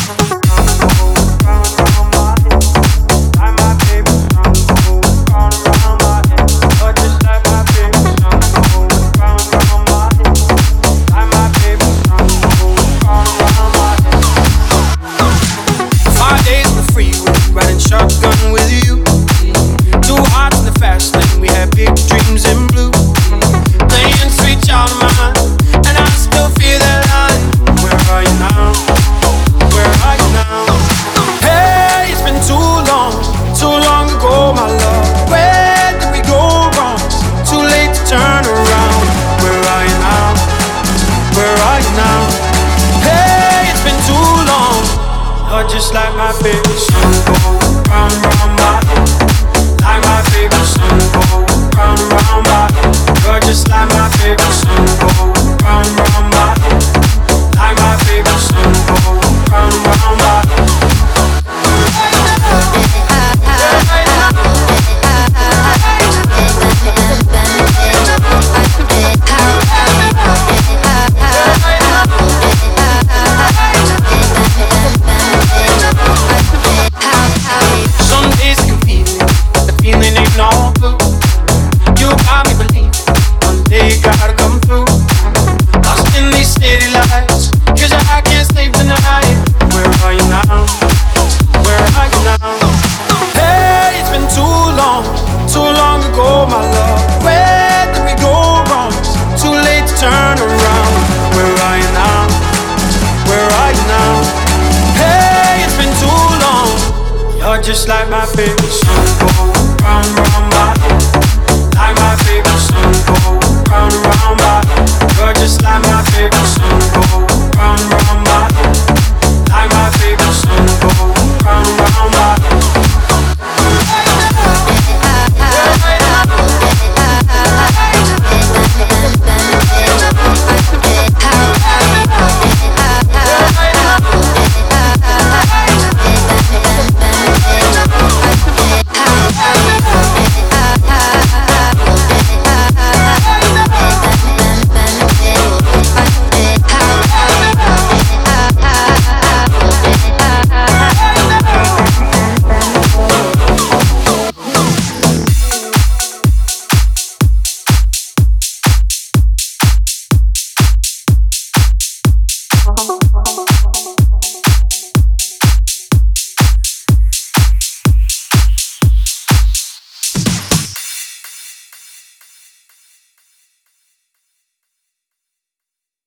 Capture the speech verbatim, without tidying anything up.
Just like my favorite song, go round and round my head. Like my favorite song, go round and round my head. You're just like my favorite song, go round and round my head. Like my favorite song, go round and round my head. Just like my favorite song.